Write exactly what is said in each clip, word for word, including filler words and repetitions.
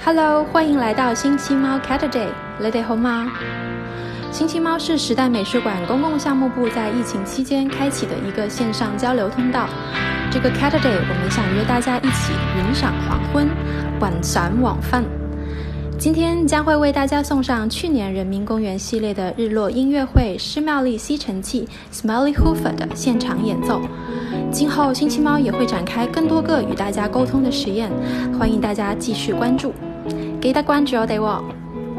Hello， 欢迎来到星期猫 Catterday， 你哋好嗎？星期猫是时代美术馆公共项目部在疫情期间开启的一个线上交流通道。这个 Catterday， 我们想约大家一起云赏黄昏，晚赏晚饭。今天将会为大家送上去年人民公园系列的日落音乐会施妙丽吸尘器 Smelly Hoover 的现场演奏。今后星期猫也会展开更多个与大家沟通的实验，欢迎大家继续关注。記得關注我哋喎。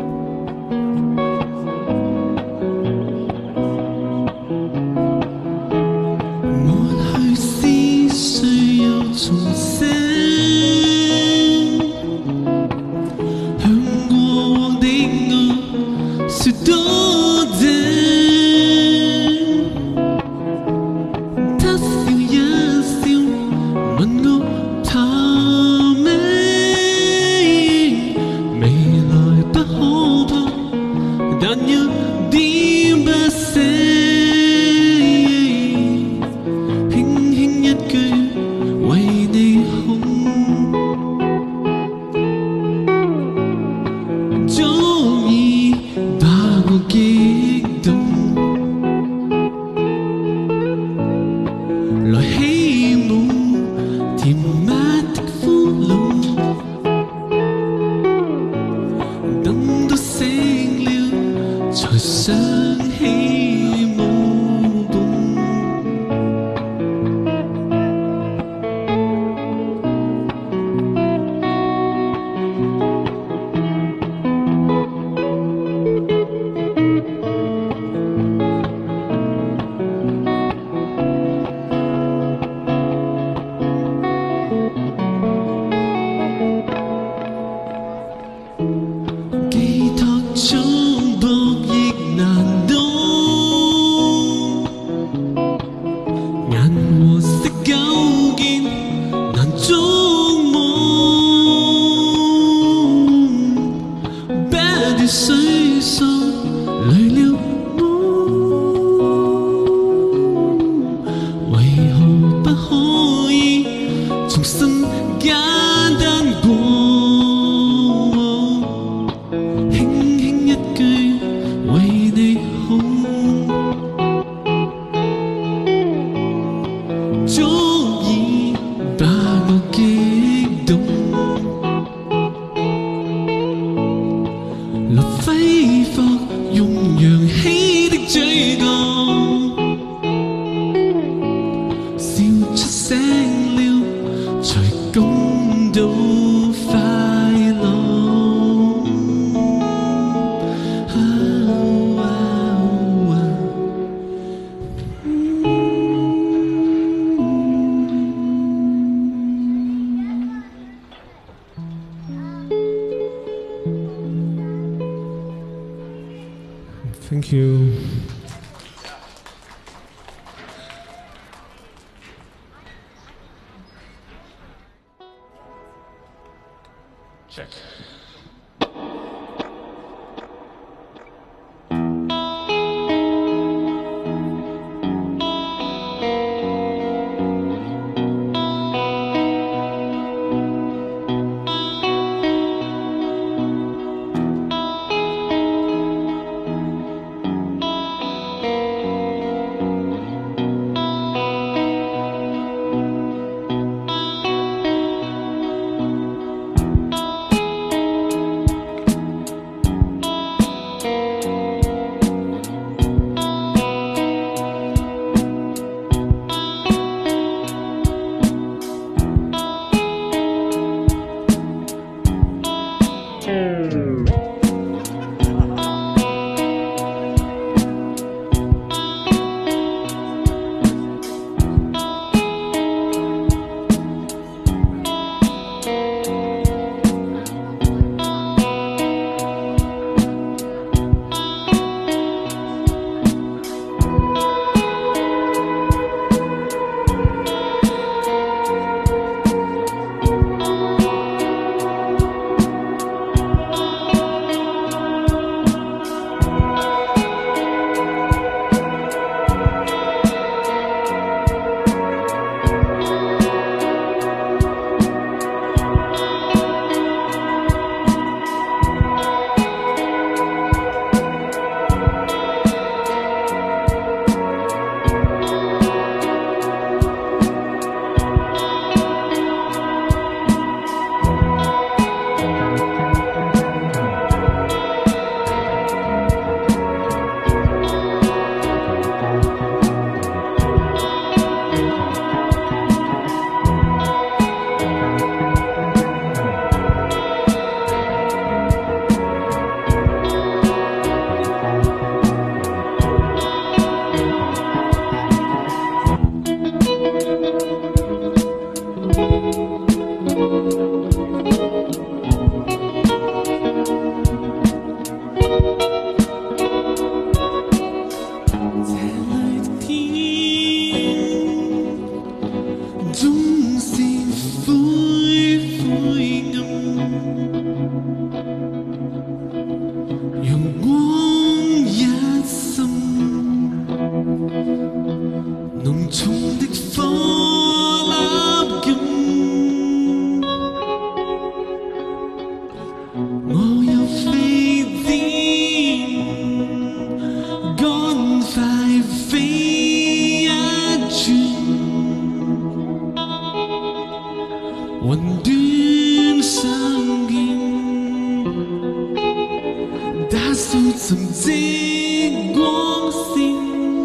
Thank you. Check. 甚至光線。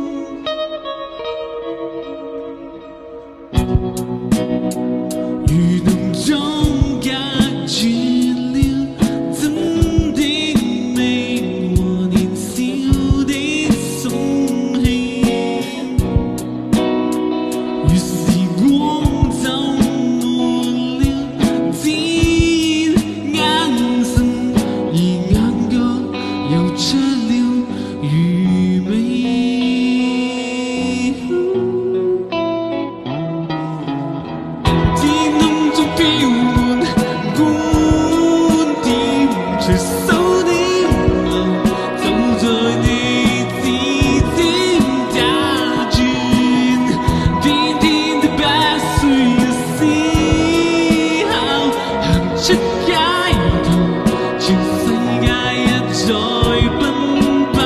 如能將隔絕了真的美和年少的鬆氣，如時光走沒了只眼神，而眼角又出了餘味。隨手的流，走在你指尖打轉，天天的不需要思考，行出街頭，全世界一再奔跑，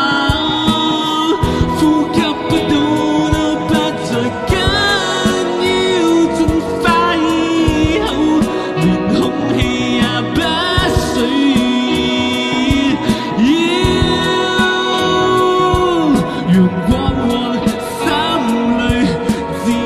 呼吸不到都不再緊要，盡快以後，連空氣也不需。陽光往心裏照。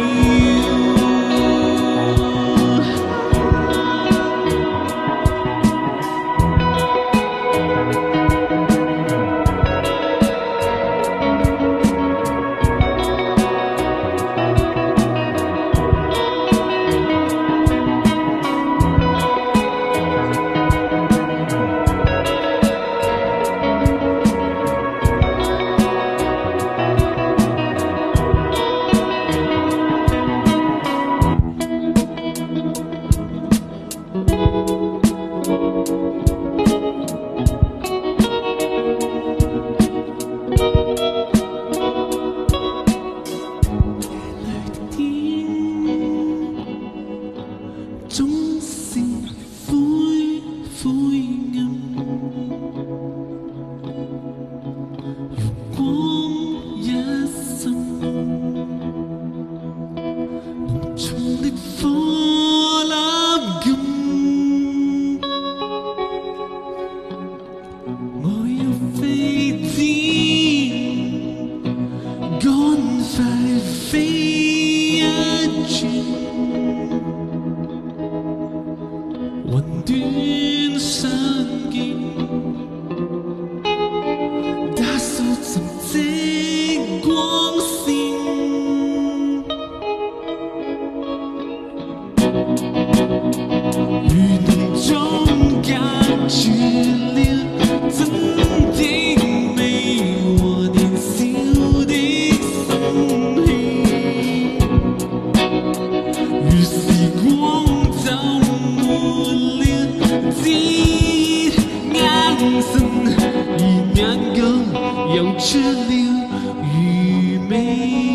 總是灰灰暗，陽光一滲，濃重的火粒感，我要飛天，趕快飛一轉。雲端相見，打掃沉積光線，如能將隔絕了真的美和年少的鬆氣，如時光走沒了只眼神，而眼角又出了餘味。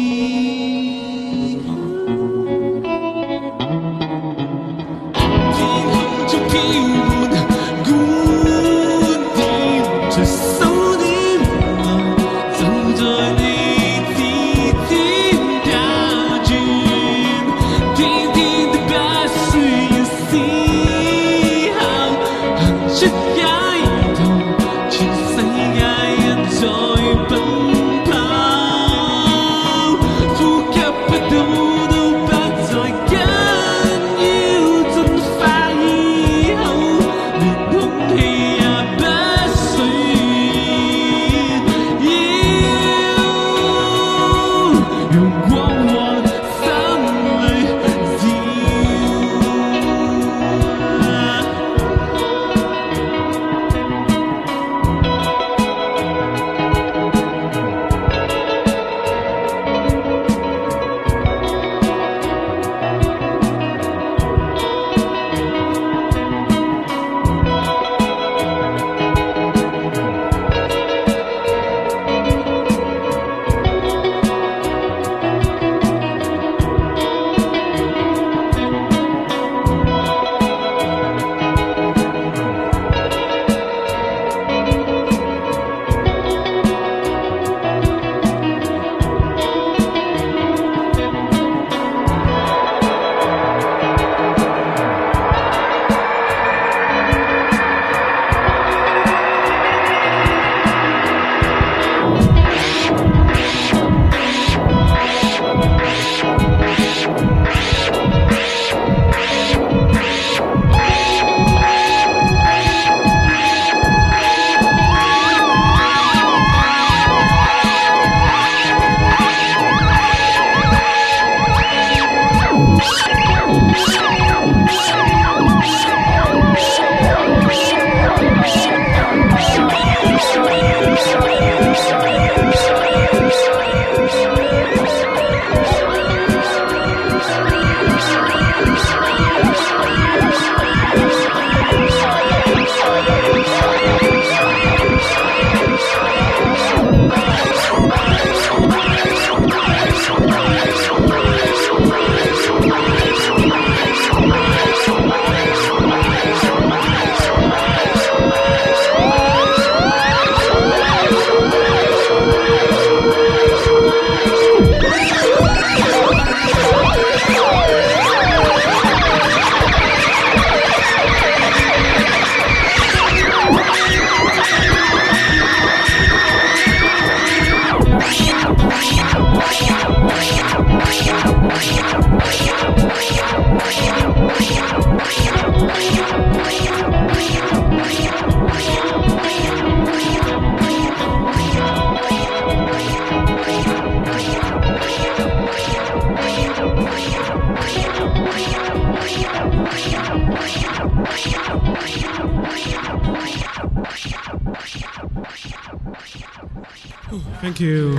天空中飄滿觀點，隨手的流，走在你指尖打轉，天天的不需要思考，行出街頭，全世界一再奔跑，呼吸不到都不再緊要，盡快以後，連空氣也不需要，陽光往心裏照。 Thank you。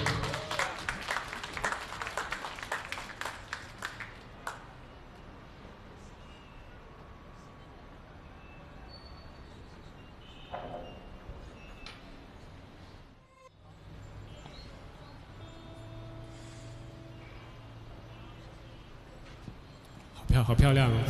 好漂好漂亮哦！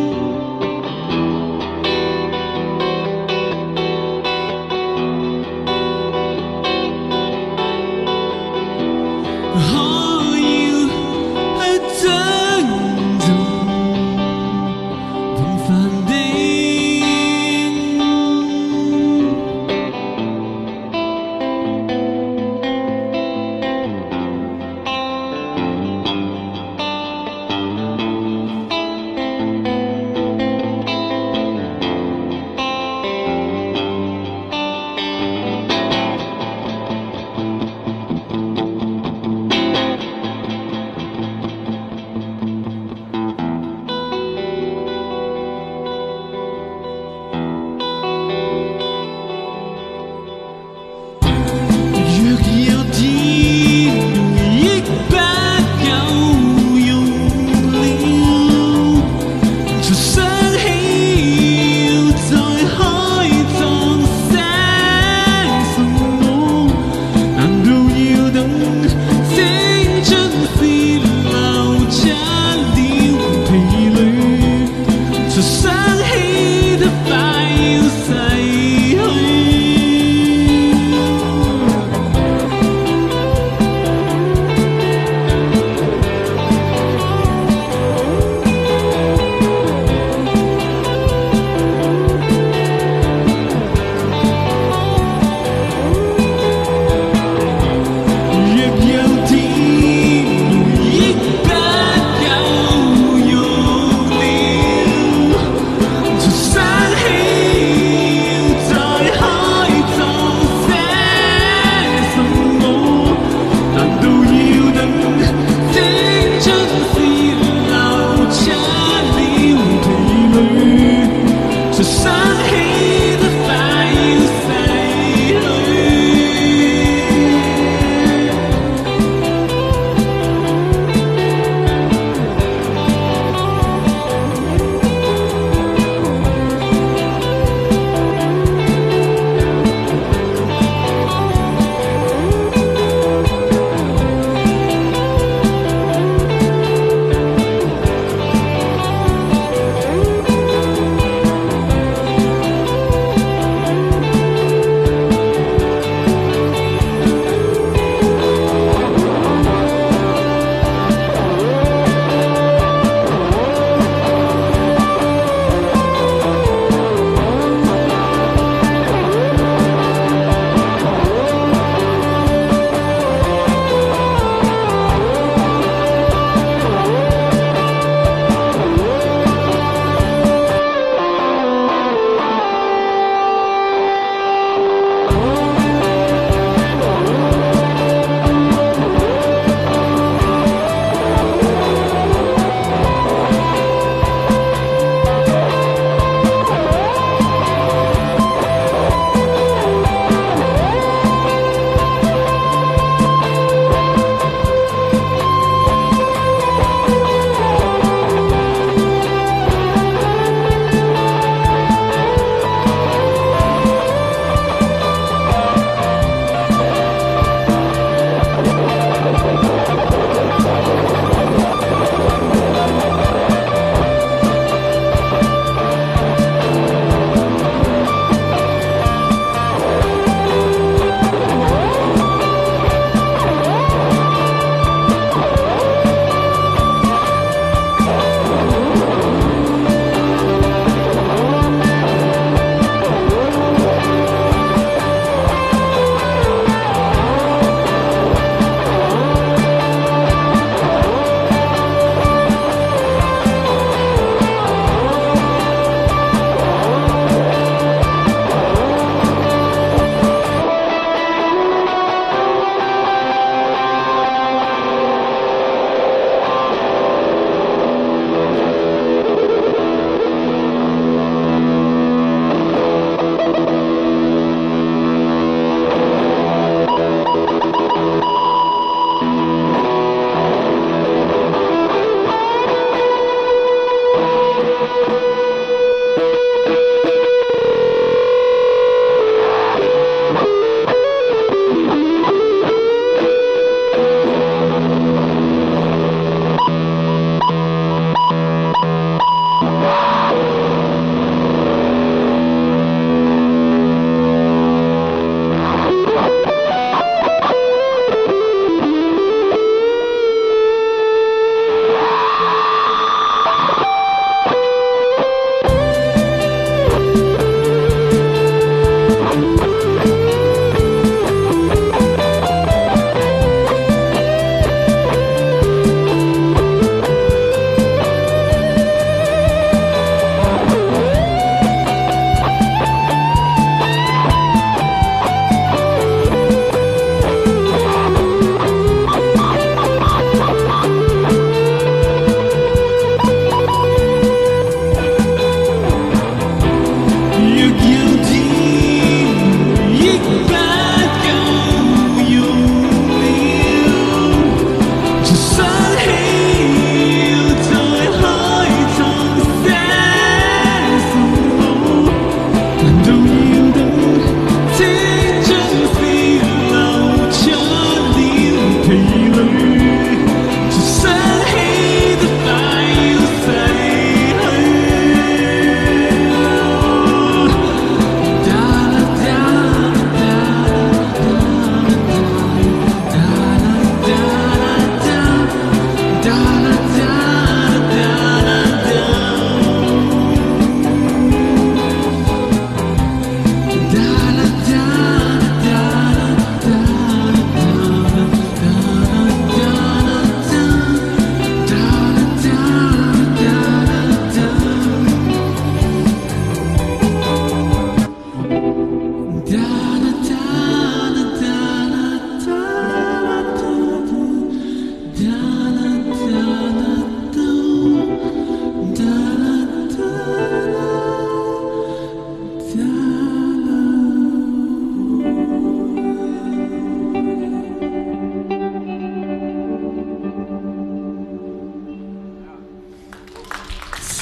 明幻的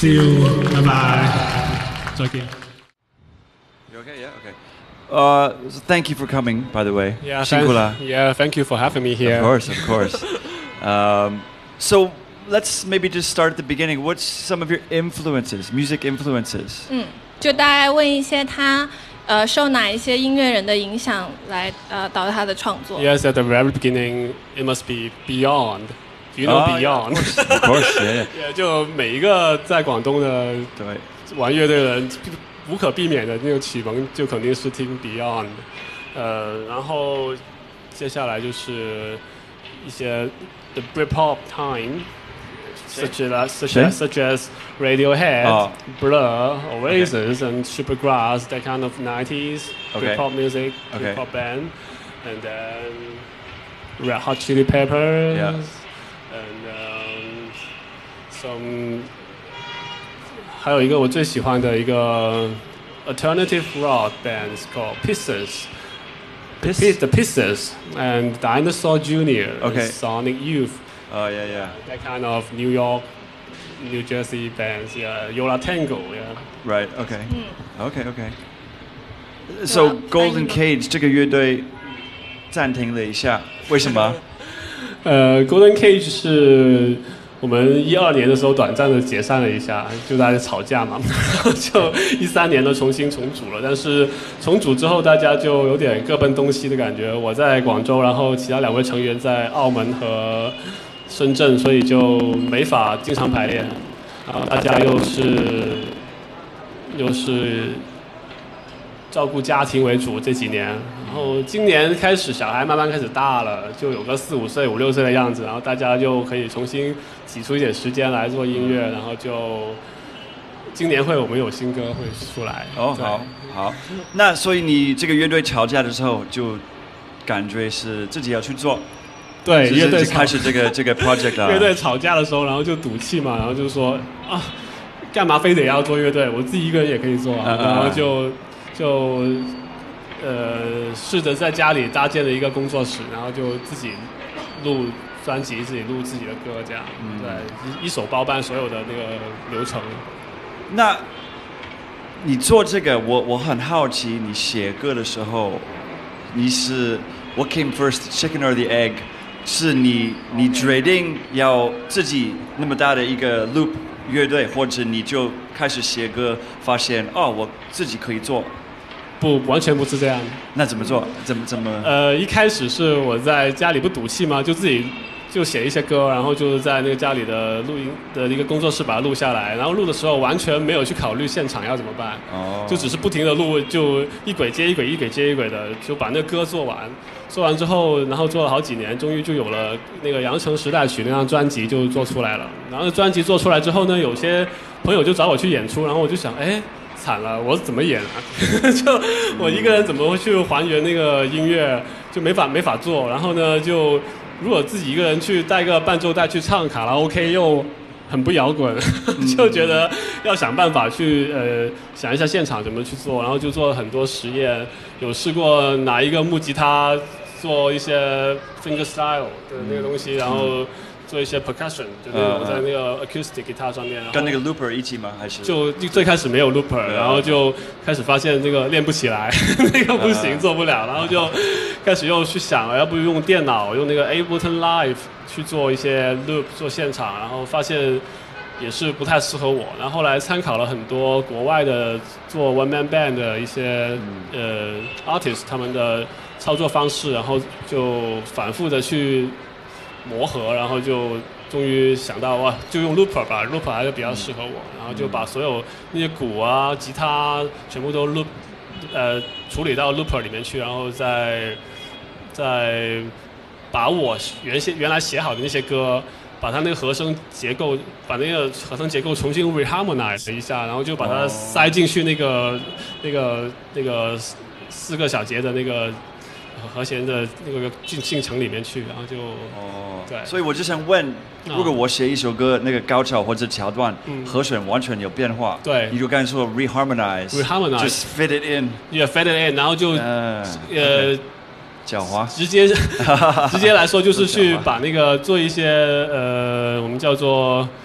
See you， 拜拜，再见。 You okay? Yeah. Okay. Uh, so thank you for coming. By the way. Yeah, 辛苦了。 Yeah, thank you for having me here. Of course, of course. um, so let's maybe just start at the beginning. What's some of your influences, music influences? 嗯，就大概问一些他呃受哪一些音乐人的影响来呃导致他的创作。 Yes, at the very beginning, it must be Beyond. Do you know Ah, yeah, Beyond? Of course, yeah. Yeah, 就每一个在广东的对， 玩乐队的人，无可避免的那种启蒙就肯定是听 Beyond。呃，然后接下来就是一些 The Britpop Time。Such as, such as, such as Radiohead, Oh. Blur, Oasis, and Supergrass, that kind of nineties Okay. Britpop music, Okay. Britpop band, and then Red Hot Chili Peppers, Yeah. and um, some 还有一个我最喜欢的一个 alternative rock band is called Pistons. The Pis- Pis- The Pistons and Dinosaur Junior, Okay. and Sonic Youth. Oh yeah, yeah. That kind of New York, New Jersey bands, yeah. Yola Tango, yeah. Right. Okay. 嗯 Okay. Okay. So Well, Golden I- Cage 这个乐队暂停了一下，为什么？ 呃，Golden Cage 是我们一二年的时候短暂的解散了一下，就大家吵架嘛，就一三年的重新重组了。但是重组之后，大家就有点各奔东西的感觉。我在广州，然后其他两位成员在澳门和深圳，所以就没法经常排练。然后大家又是又是照顾家庭为主这几年，然后今年开始小孩慢慢开始大了，就有个四五岁、五六岁的样子，然后大家就可以重新挤出一点时间来做音乐，然后就今年会我们有新歌会出来。 哦， 对好，好。那所以你这个乐队吵架的时候，就感觉是自己要去做， 对， 就是乐队就开始这个这个 project 啊。 乐队吵架的时候，然后就赌气嘛，然后就说啊，干嘛非得要做乐队？我自己一个人也可以做啊， 嗯嗯然后就就呃试着在家里搭建了一个工作室，然后就自己录专辑，自己录自己的歌，这样， 嗯对，一一手包办所有的那个流程。 那你做这个，我我很好奇，你写歌的时候，你是 What came first, chicken or the egg？是你你决定要自己那么大的一个 loop 乐队，或者你就开始写歌，发现哦，我自己可以做， 不，完全不是这样。 那怎么做？怎么怎么？ 呃，一开始是我在家里不赌气嘛，就自己就写一些歌，然后就是在那个家里的录音的一个工作室把它录下来，然后录的时候完全没有去考虑现场要怎么办， 哦， 就只是不停的录，就一轨接一轨，一轨接一轨的，就把那个歌做完。做完之后，然后做了好几年，终于就有了那个《羊城时代曲》那张专辑就做出来了。然后专辑做出来之后呢，有些朋友就找我去演出，然后我就想，哎，惨了，我怎么演啊？就我一个人怎么会去还原那个音乐，就没法没法做。然后呢，就如果自己一个人去带个伴奏带去唱卡拉 OK 又很不摇滚，就觉得要想办法去呃想一下现场怎么去做，然后就做了很多实验，有试过拿一个木吉他做一些 finger style 的那个东西，然后做一些 percussion， 就那种在那个 acoustic guitar 上面，然后跟那个 looper 一起吗？还是就最开始没有 looper， 对啊然后就开始发现这个练不起来，那个不行， 啊做不了，然后就开始又去想，要不用电脑，用那个 Ableton Live 去做一些 loop 做现场，然后发现也是不太适合我。然后后来参考了很多国外的做 one man band 的一些、呃 artist 他们的操作方式，然后就反复的去磨合，然后就终于想到哇，就用 looper 吧 ，looper 还是比较适合我，然后就把所有那些鼓啊、吉他全部都 loop， 呃，处理到 looper 里面去，然后再再把我原先原来写好的那些歌，把它那个和声结构，把那个和声结构重新 reharmonize 一下，然后就把它塞进去那个、那个那个四个小节的那个和弦的那个进进程里面去，然后就哦， 对所以我就想问，如果我写一首歌，那个高潮或者桥段， 嗯和弦完全有变化， 对你就刚才说 reharmonize， reharmonize just fit it in， 也 fade it in， 然后就、 嗯， 呃。 狡猾， 直接直接来说，就是去把那个做一些呃，我们叫做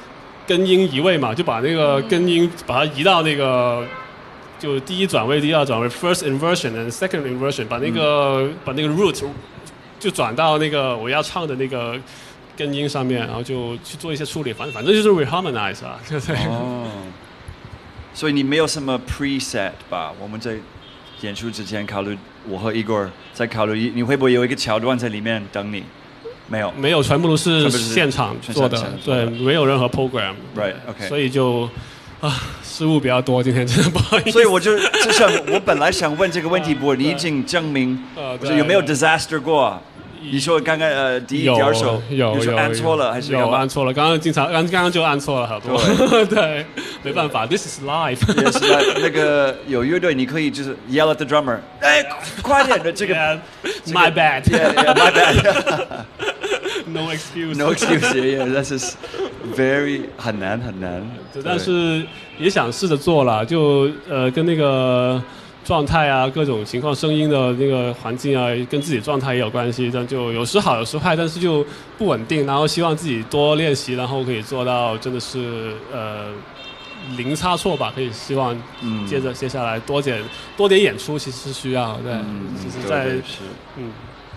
根音移位嘛，就把那个根音把它移到那个就第一转位、第二转位 ，first inversion and second inversion， 把那个、嗯、把那个 root 就转到那个我要唱的那个根音上面，然后就去做一些处理，反正反正就是 reharmonize 啊，对不对？ 哦，所以你没有什么 preset 吧？我们在演出之前考虑，我和 Igor 在考虑，你会不会有一个桥段在里面等你？没有， 没有，全部都是现场做的，对，没有任何 program。 Right, OK。 所以就啊，失误比较多，今天真的不好意思。 所以我就就想，我本来想问这个问题，不过你已经证明，我说有没有 disaster 过？你说刚刚呃第一点手有有有按错了还是有按错了？刚刚经常刚刚刚就按错了好多，对，没办法 ，This is live。 也是那个有乐队，你可以就是 yell at the drummer， 哎，快点的这个 ，My bad，Yeah Yeah，My bad。 No excuse. No excuse. Yeah, yeah. That's just very 很难很难。 但是也想试着做了，就呃跟那个状态啊、各种情况、声音的那个环境啊，跟自己状态也有关系。但就有时好，有时坏，但是就不稳定。然后希望自己多练习，然后可以做到真的是呃零差错吧。可以希望接着接下来多点多点演出，其实是需要对，其实在嗯。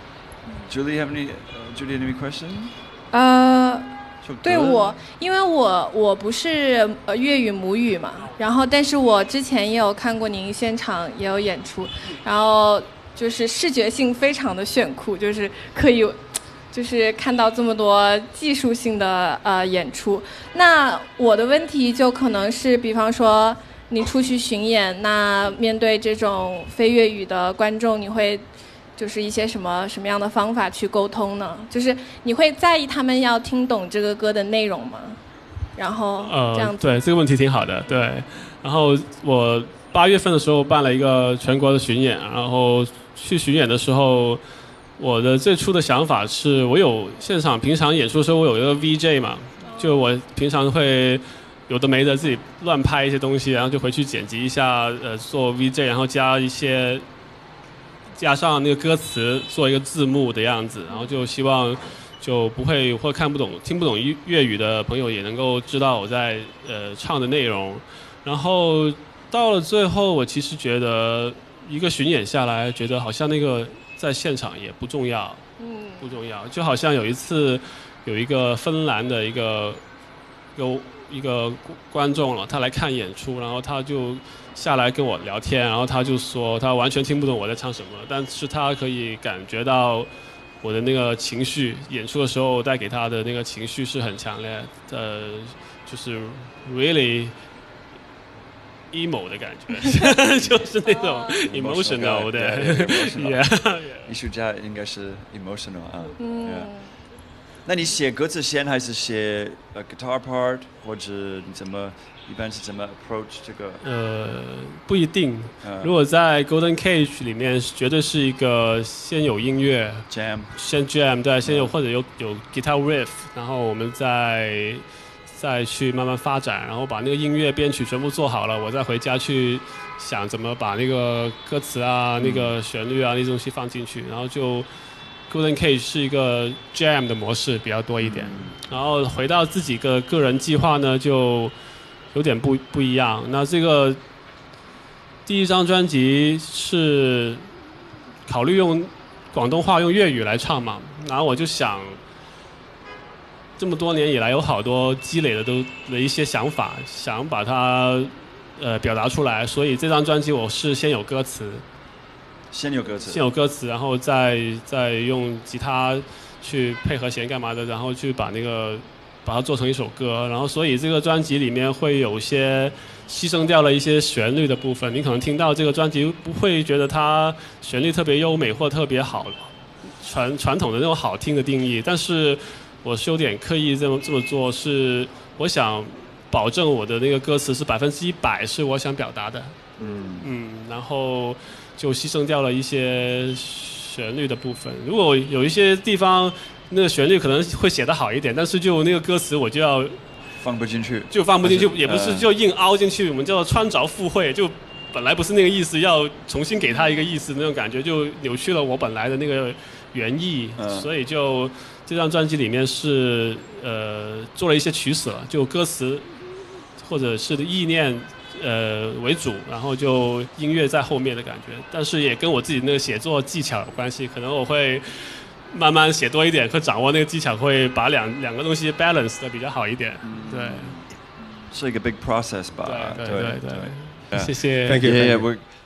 Julie, have any? Uh, Julie, any question? 呃，对我，因为我我不是呃粤语母语嘛，然后但是我之前也有看过您现场也有演出，然后就是视觉性非常的炫酷，就是可以就是看到这么多技术性的呃演出。那我的问题就可能是，比方说你出去巡演，那面对这种非粤语的观众，你会就是一些什么什么样的方法去沟通呢？就是你会在意他们要听懂这个歌的内容吗？然后这样子。 呃，对，这个问题挺好的，对。然后我八月份的时候办了一个全国的巡演，然后去巡演的时候，我的最初的想法是我有现场平常演出的时候，我有一个 V J 嘛，就我平常会有的没的自己乱拍一些东西，然后就回去剪辑一下，呃，做 V J， 然后加一些。加上那个歌词做一个字幕的样子，然后就希望就不会或看不懂、听不懂粤语的朋友也能够知道我在呃唱的内容。然后到了最后，我其实觉得一个巡演下来，觉得好像那个在现场也不重要，嗯，不重要。就好像有一次有一个芬兰的一个有一个观众了，他来看演出，然后他就下来跟我聊天，然后他就说他完全听不懂我在唱什么，但是他可以感觉到我的那个情绪，演出的时候带给他的那个情绪是很强烈的，呃，就是 really emo 的感觉，就是那种 emotional 的 ，yeah， 艺术家应该是 emotional 啊，嗯。那你写歌词先还是写呃 guitar part， 或者你怎么一般是怎么 approach 这个？ 呃，不一定。呃、如果在 Golden Cage 里面，绝对是一个先有音乐 jam， 先 jam， 对，先有、嗯、或者有有 guitar riff， 然后我们再再去慢慢发展，然后把那个音乐编曲全部做好了，我再回家去想怎么把那个歌词啊、嗯、那个旋律啊那些东西放进去，然后就。Golden Cage 是一个 jam 的模式比较多一点，嗯、然后回到自己的个人计划呢，就有点不不一样。那这个第一张专辑是考虑用广东话、用粤语来唱嘛，然后我就想，这么多年以来有好多积累的都的一些想法，想把它呃表达出来，所以这张专辑我是先有歌词。 先有歌词， 先有歌词，然后再再用吉他去配和弦干嘛的，然后去把那个把它做成一首歌，然后所以这个专辑里面会有些牺牲掉了一些旋律的部分，你可能听到这个专辑不会觉得它旋律特别优美或特别好，传传统的那种好听的定义，但是我是有点刻意这么这么做，是我想保证我的那个歌词是百分之一百是我想表达的，嗯嗯，然后。就牺牲掉了一些旋律的部分。如果有一些地方那个旋律可能会写得好一点，但是就那个歌词我就要放不进去， 就放不进去，也不是就硬凹进去，我们叫穿凿附会，就本来不是那个意思，要重新给他一个意思，那种感觉就扭曲了我本来的那个原意， 嗯所以就这张专辑里面是呃做了一些取舍，就歌词或者是意念呃为主，然后就音乐在后面的感觉，但是也跟我自己那个写作技巧有关系，可能我会慢慢写多一点，会掌握那个技巧，会把两两个东西 balance 的比较好一点，对。 是一个 big process 吧？ 对对对对， Yeah. 谢谢。 Thank you. Yeah, thank yeah, you. we're